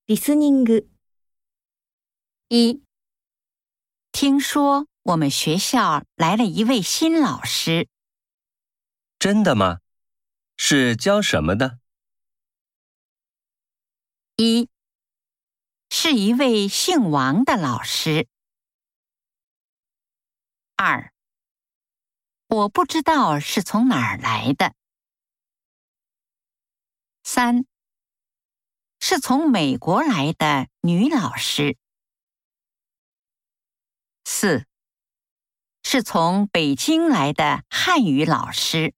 リスニング。 一，听说我们学校来了一位新老师。 真的吗？是教什么的？ 一，是一位姓王的老师。二，我不知道是从哪儿来的。三，是从美国来的女老师。四，是从北京来的汉语老师。